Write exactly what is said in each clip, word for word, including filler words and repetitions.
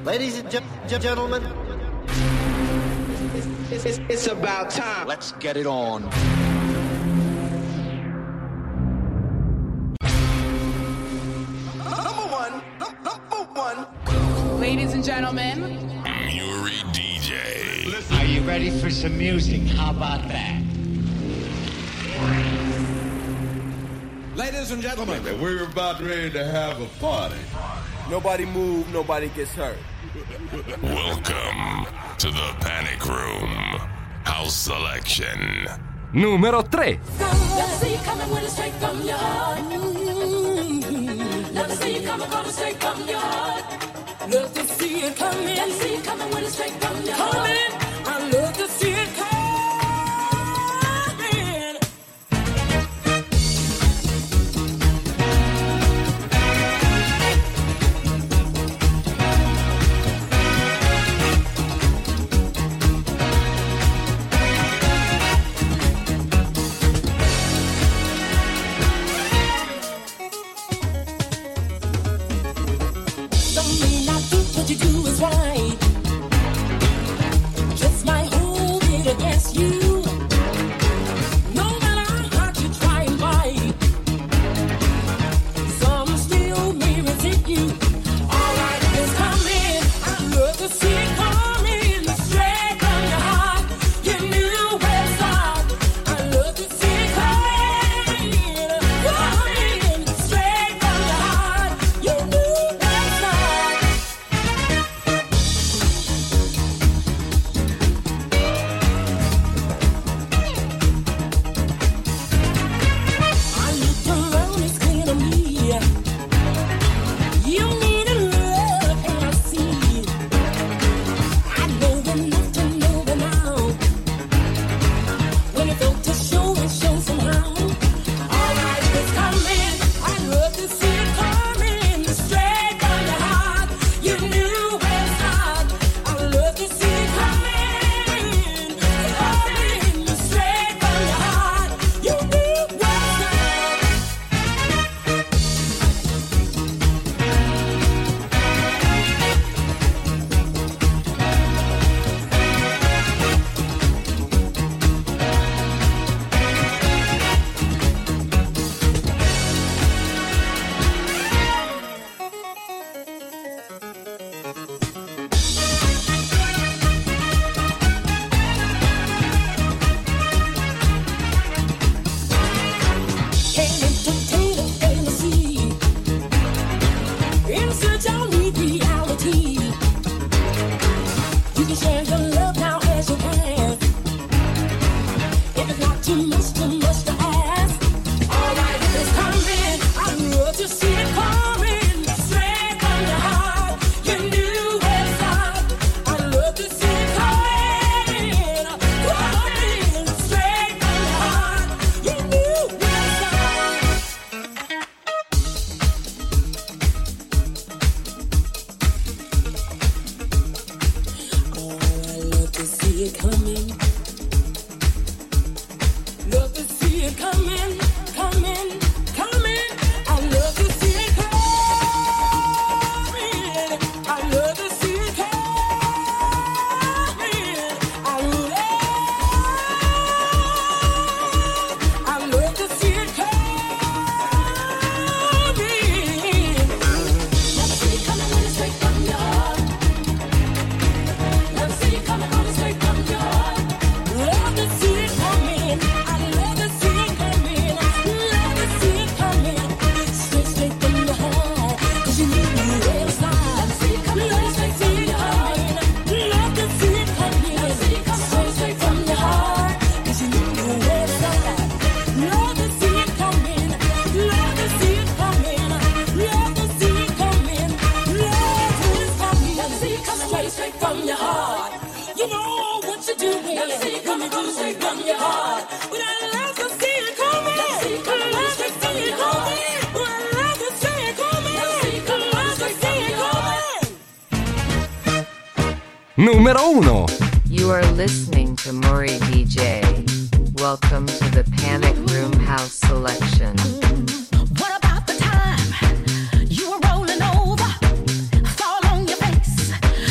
Ladies and ge- ge- gentlemen, it's, it's, it's about time. Let's get it on. Number one, number one. Ladies and gentlemen, Muri D J. Listen. Are you ready for some music? How about that? Ladies and gentlemen, we're about ready to have a party. Nobody move, nobody gets hurt. Welcome to the Panic Room House Selection. Numero tre. Never see you coming when it's straight from your heart. Never see you coming, gonna straight from your heart. Love to see it coming. Never see you coming when it's straight from your heart. Coming. I love to see it coming. What you do is right. Just might hold it against you. No matter how hard you try and fight, some still may resent you. Alright, it's coming. I love to see it coming straight from your heart. You knew where to start. I love to see it coming, coming straight from your heart. You knew where to start. Numero uno. You are listening to Muri D J. Welcome to the Panic Room House Selection. What about the time you were rolling over, fall on your face,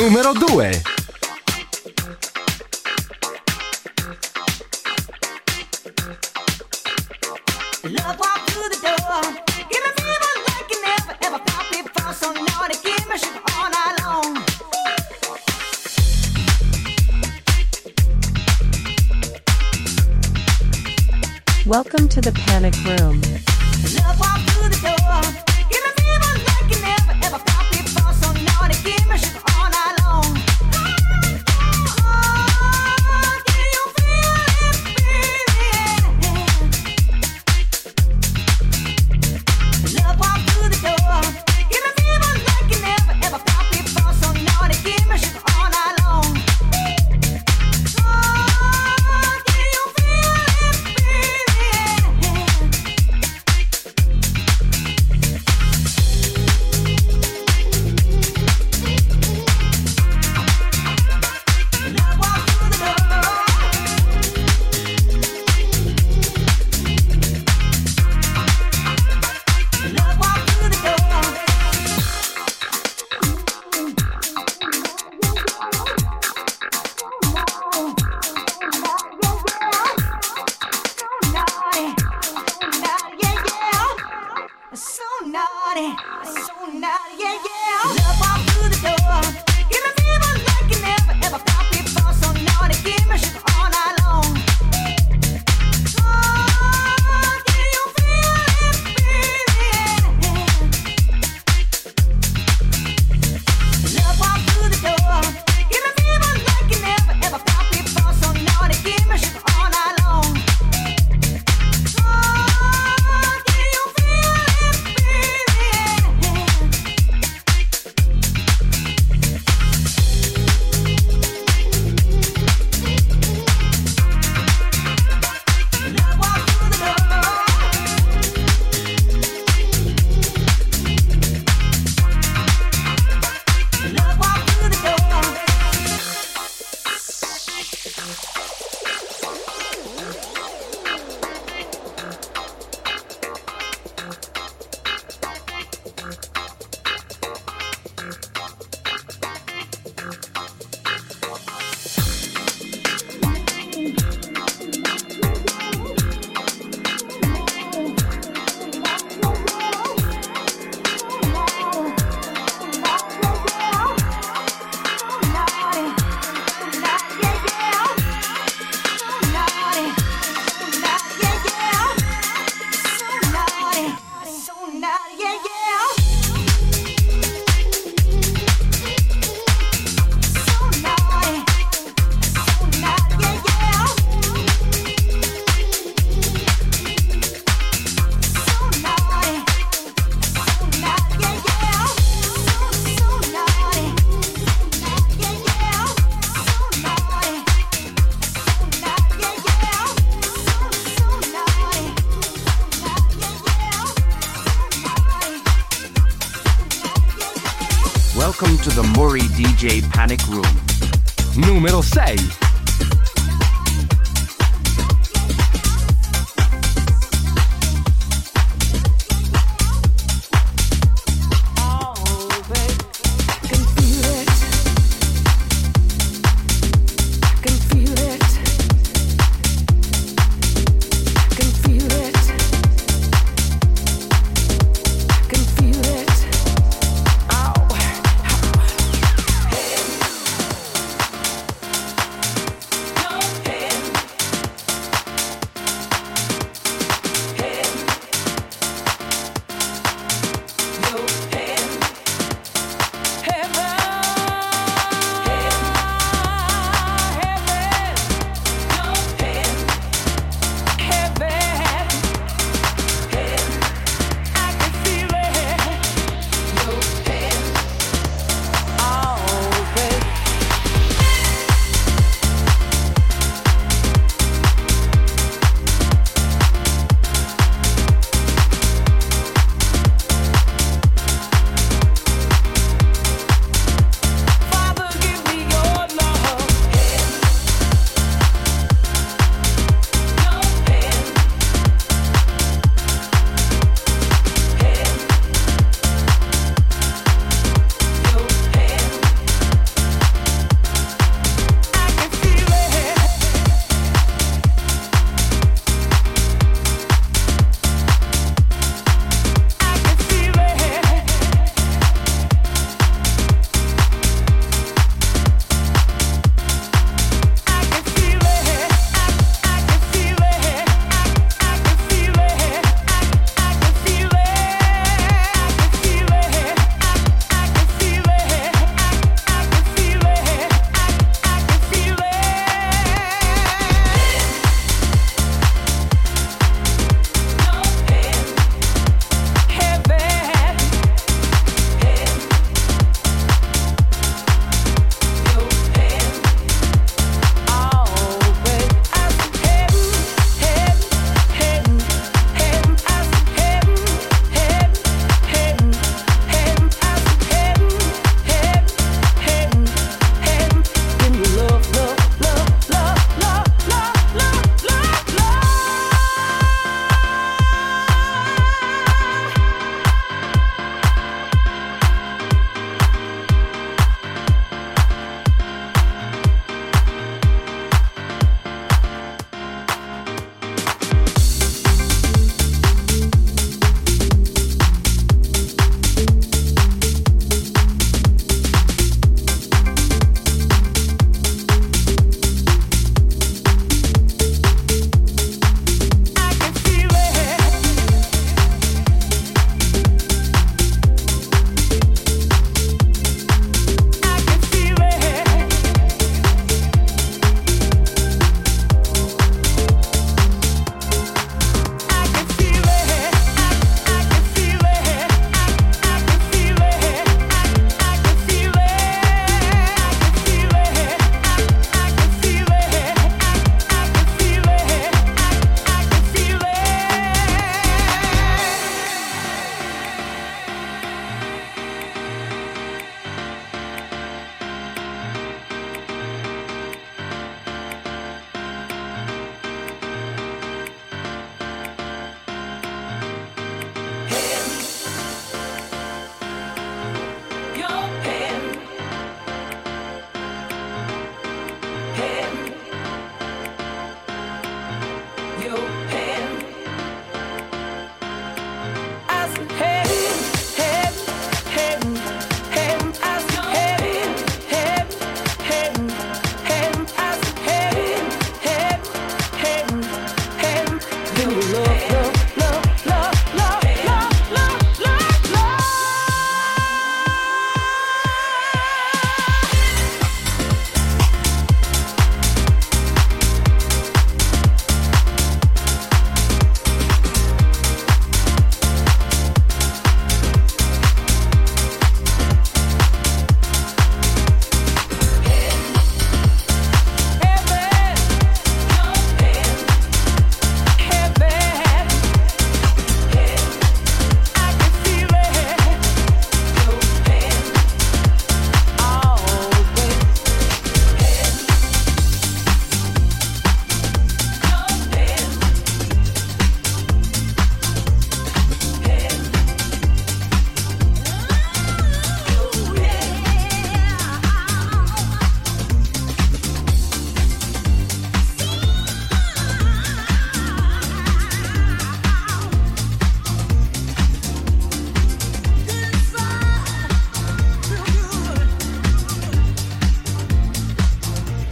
Numero due. Love walk through the door. Give me fever like you never ever felt before. So naughty, give me sugar all night long. Welcome to the Panic Room. Love walk through the door. Give me fever like you never ever felt before. So naughty, give me sugar all night long. Oh, can you feel it, baby? Love walk through the door. Give me fever like you never ever felt before. So naughty, give me sugar all night long. Oh, can you feel it, baby? Love walk through the door. Love walk through the door. So naughty, so naughty, yeah, yeah. Love walk through the door. Give me fever like you never ever felt before. So naughty, give me sugar all night long. Oh, can you feel it, baby? Love walk through the door. Give me fever like you never ever felt before. So naughty, give me sugar all night long. Oh, can you feel it, baby? Love walk through the door. Love walk through the door. Welcome to the Mori D J Panic Room. Numero sei. Can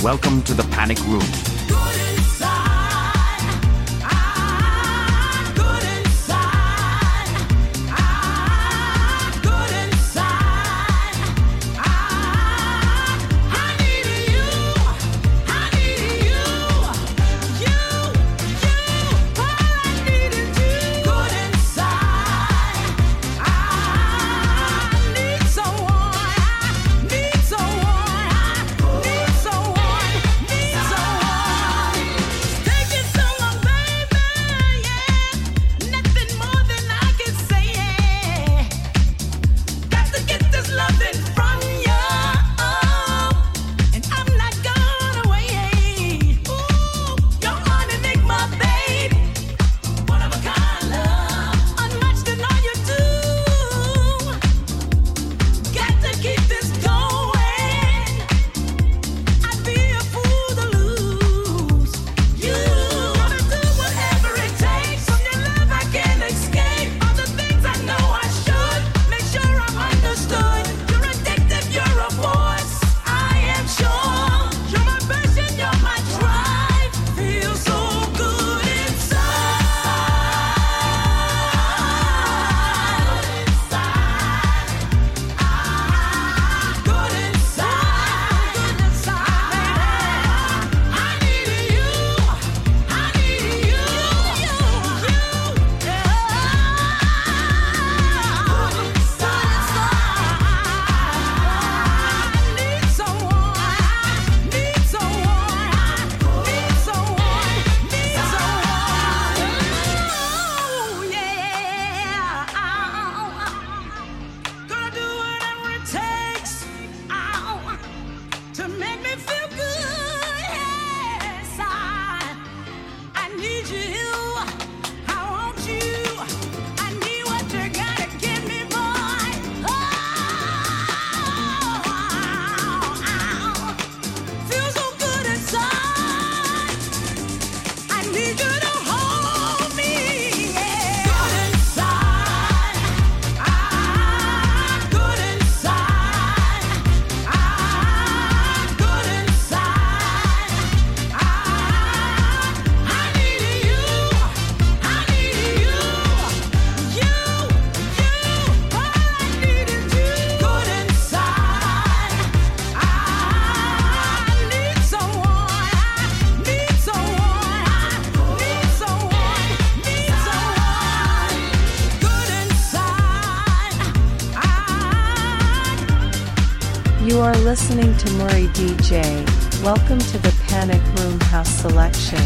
Welcome to the Panic Room. You are listening to Murray D J. Welcome to the Panic Room House Selection.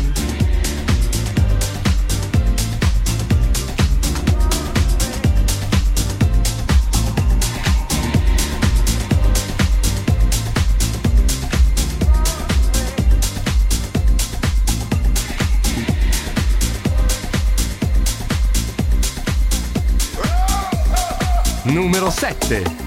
Numero sette.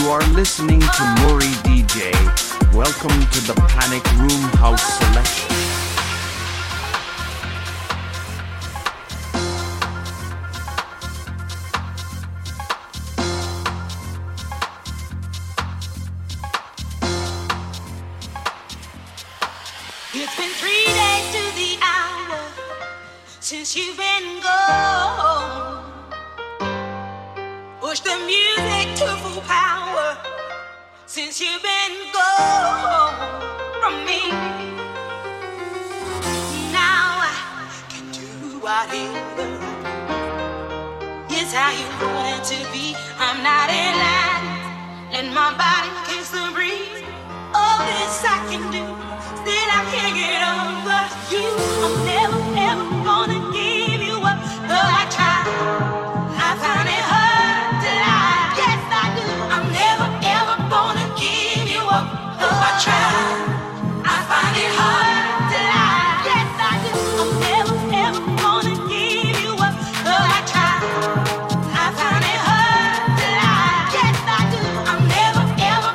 You are listening to Mori D J. Welcome to the Panic Room House Selection. It's been three days to the hour since you've been gone. Push the music to full power since you've been gone from me. Now I can do whatever. It's how you want it to be. I'm not in line. Let my body kiss the breeze. All this I can do. Still I can't get over you. I'm never, ever gonna give you up. Though I try, I find it hard to lie. Yes, I do. I'm never, ever gonna give you up. Though I try, I find it hard to lie. Yes, I do. I'm never, ever gonna give you up. Though I try, I find it hard to lie. Yes, I do. I'm never, ever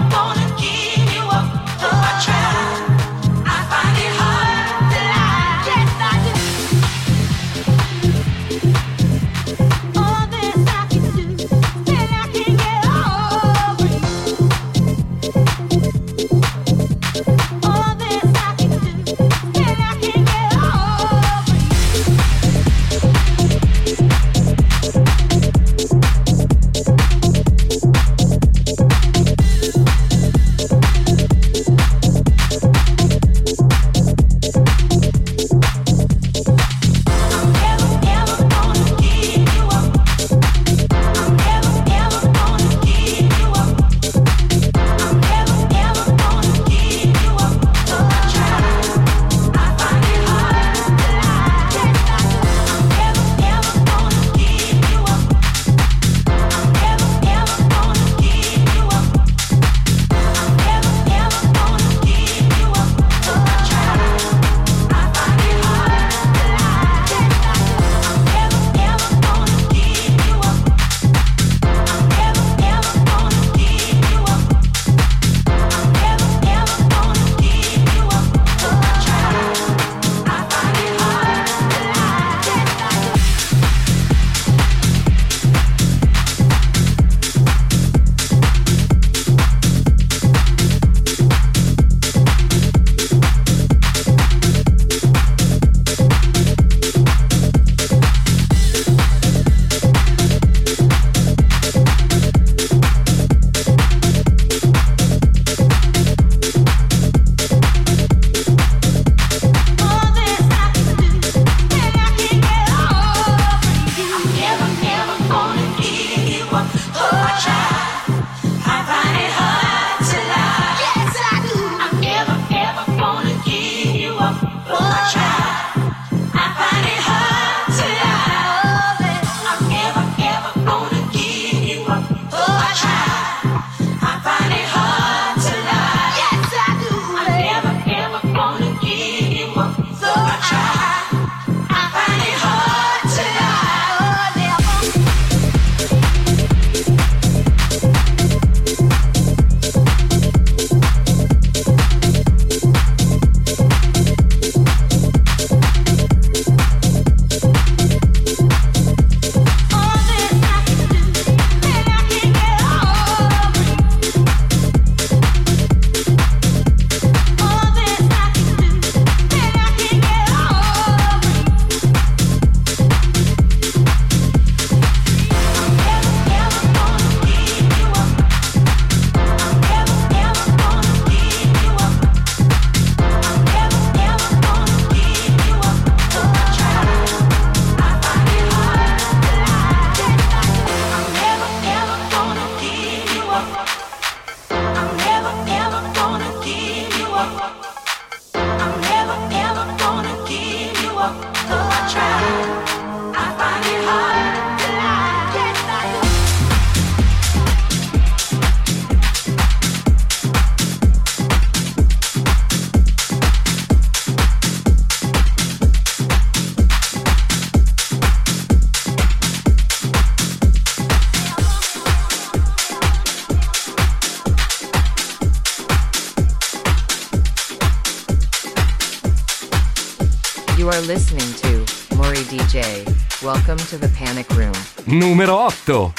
You are listening to Mori D J. Welcome to the Panic Room. Numero otto.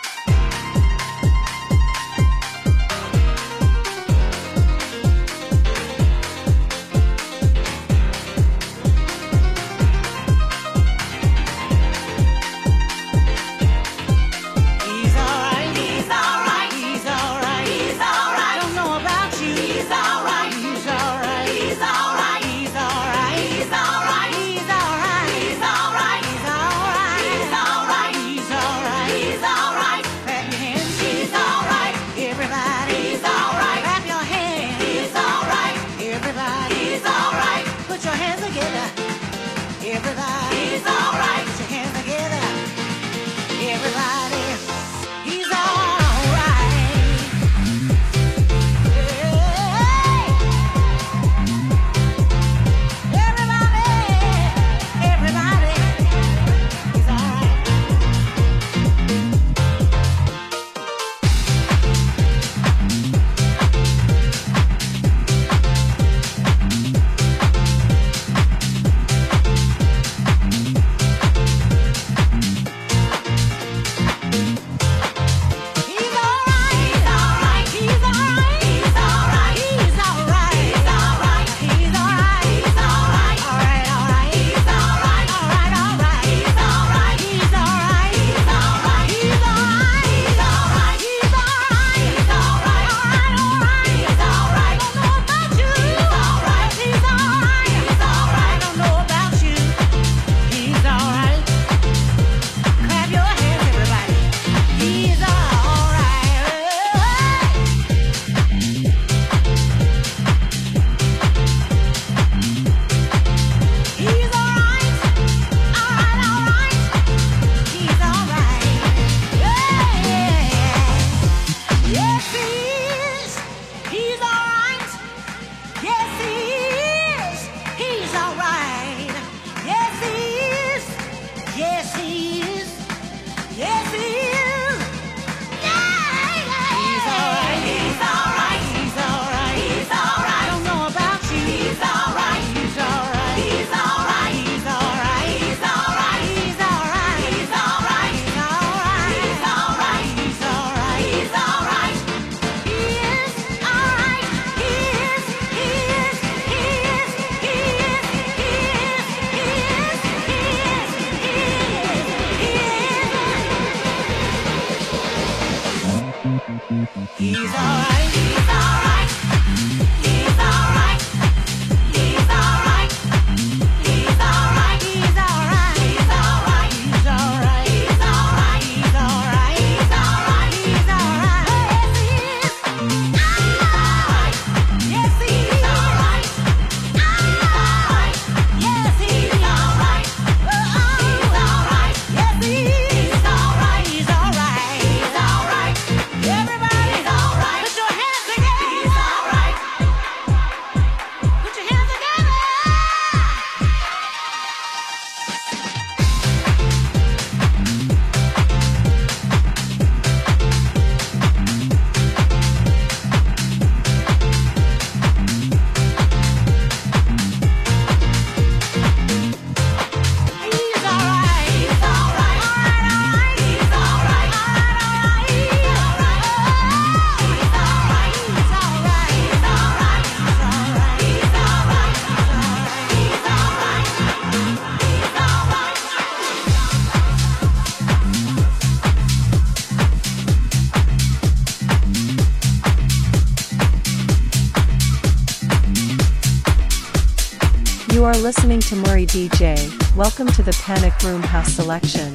You are listening to Mori D J. Welcome to the Panic Room House Selection.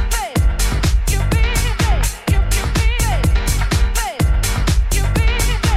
You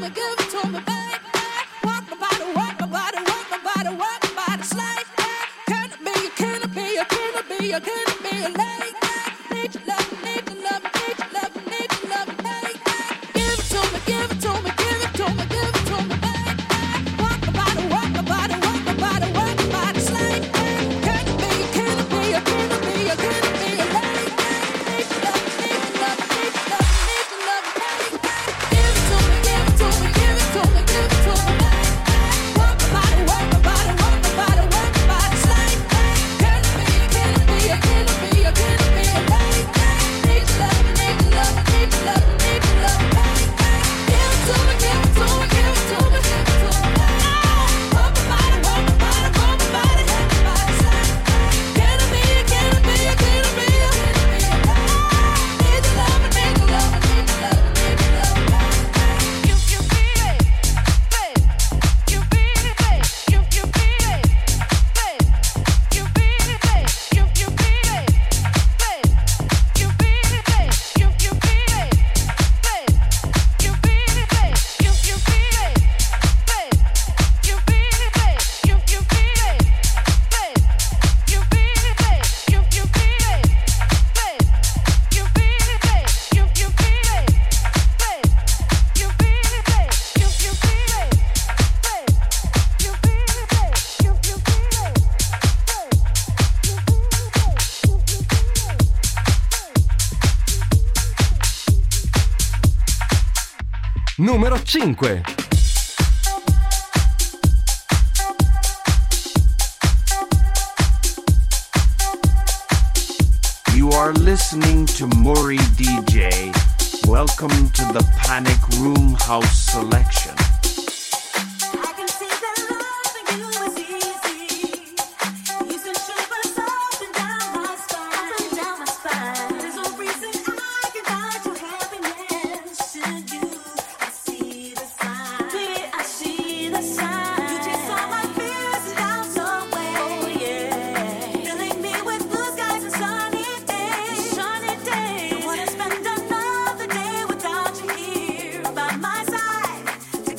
Numero cinque. You are listening to Maury D J. Welcome to the Panic Room House Selection. Wanna spend another day without you here by my side.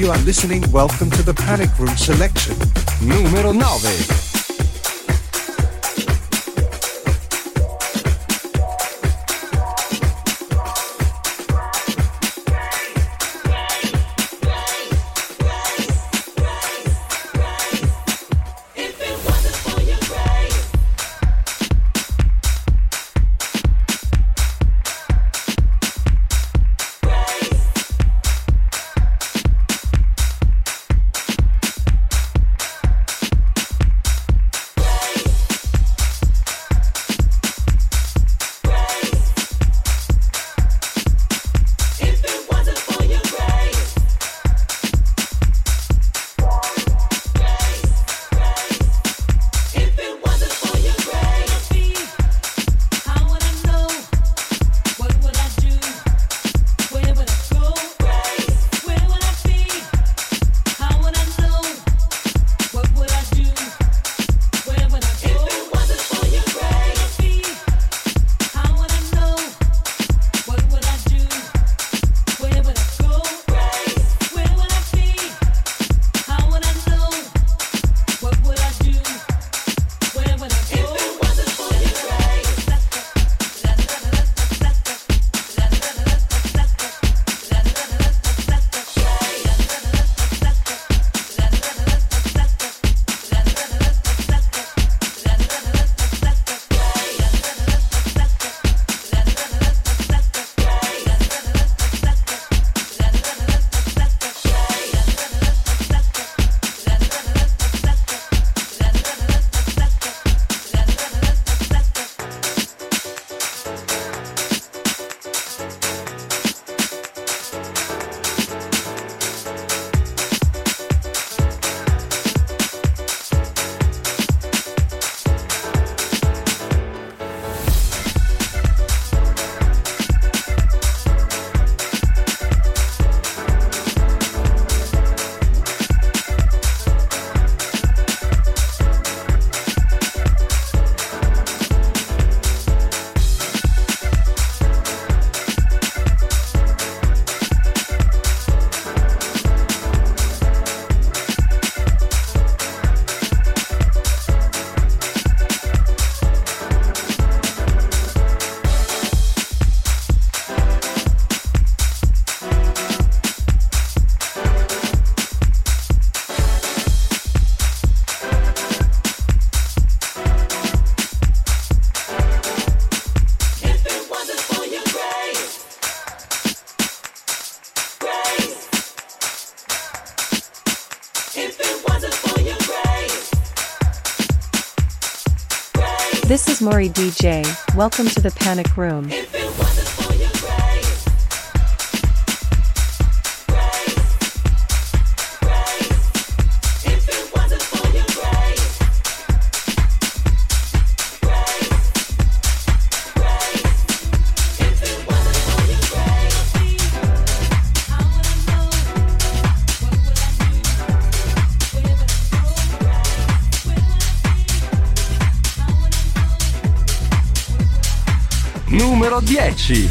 you are listening, welcome to the Panic Room Selection. Numero nove. This is Maury D J. Welcome to the Panic Room. Numero dieci.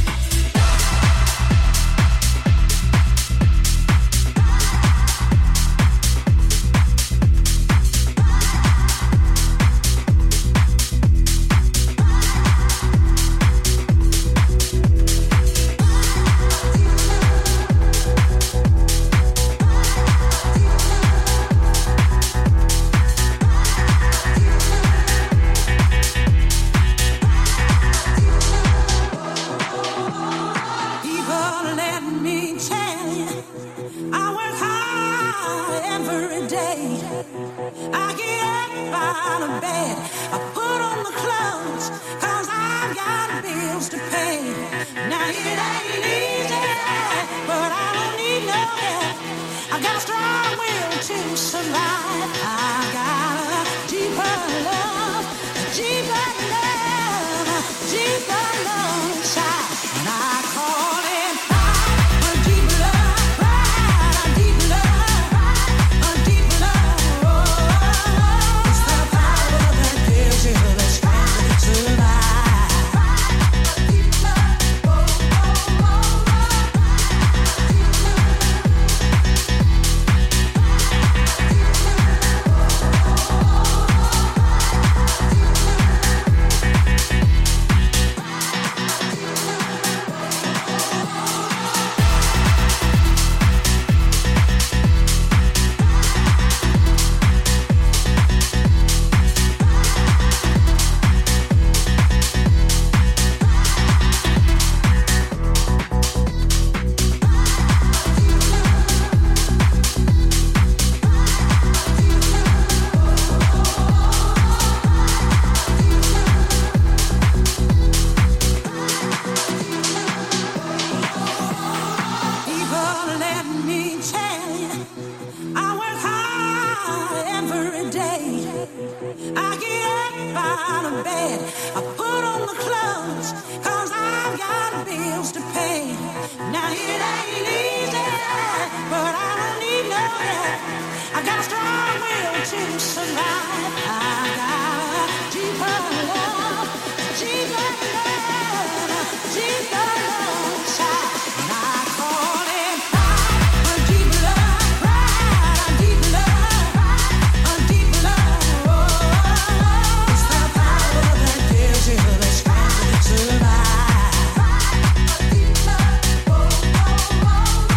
out of bed. I put on the clothes, cause I've got bills to pay. Now it ain't easy, but I don't need no help. I got a strong will to survive. I got a deeper love, deeper love, deeper love inside. And I call it pride, a deep love, pride, a deep love, a deep love. Oh, it's the power that gives you the strength to survive. A deep love, oh, oh, oh,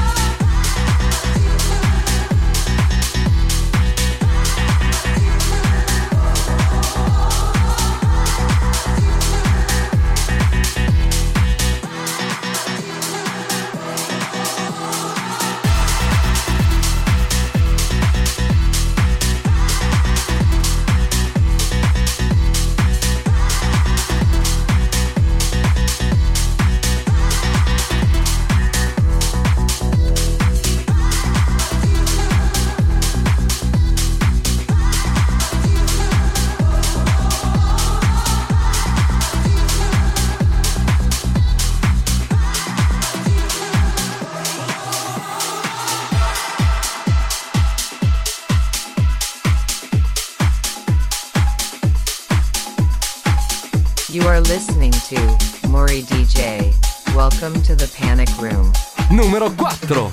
You are listening to Mori D J. Welcome to the Panic Room. Numero quattro.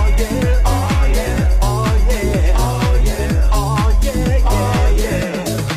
oh yeah.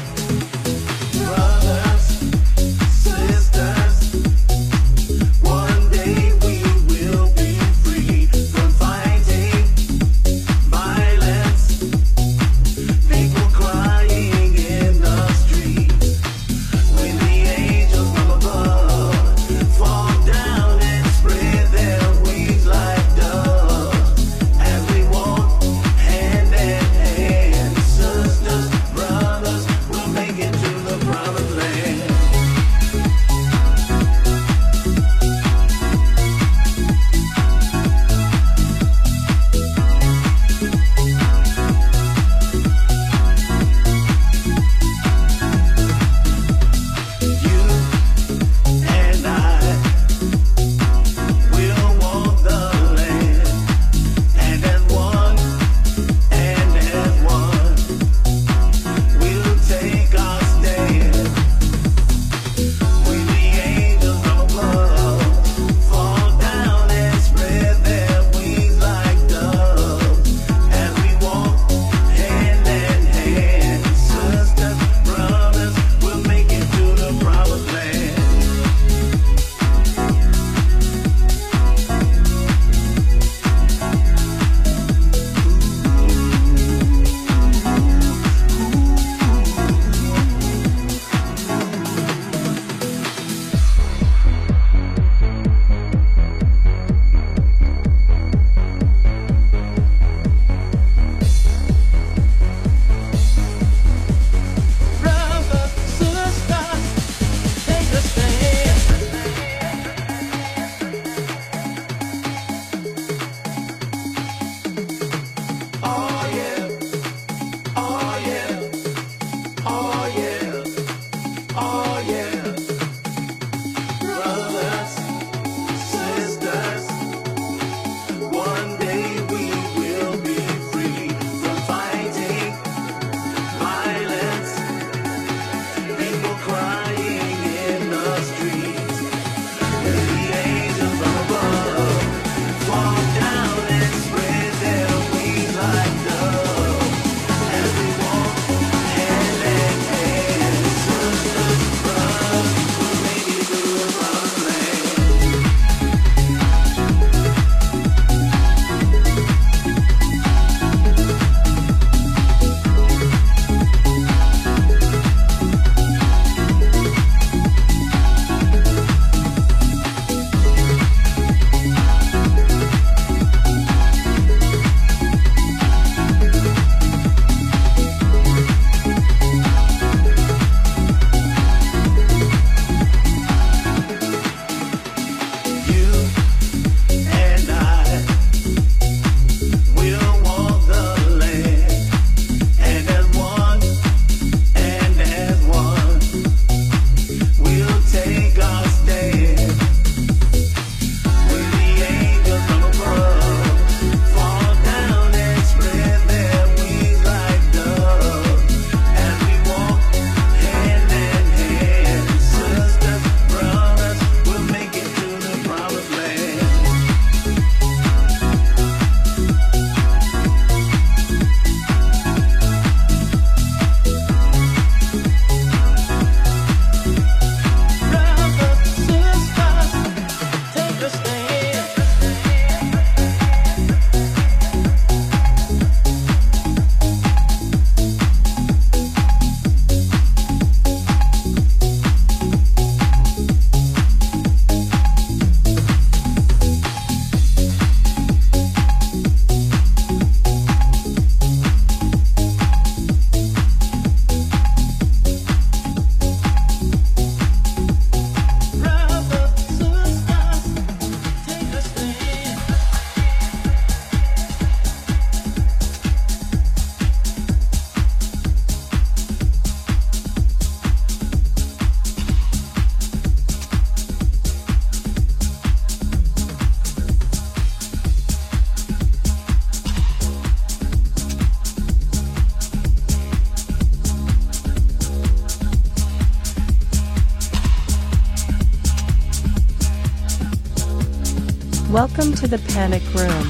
Welcome to the Panic Room.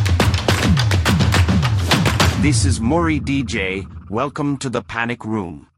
This is Maury D J. Welcome to the Panic Room.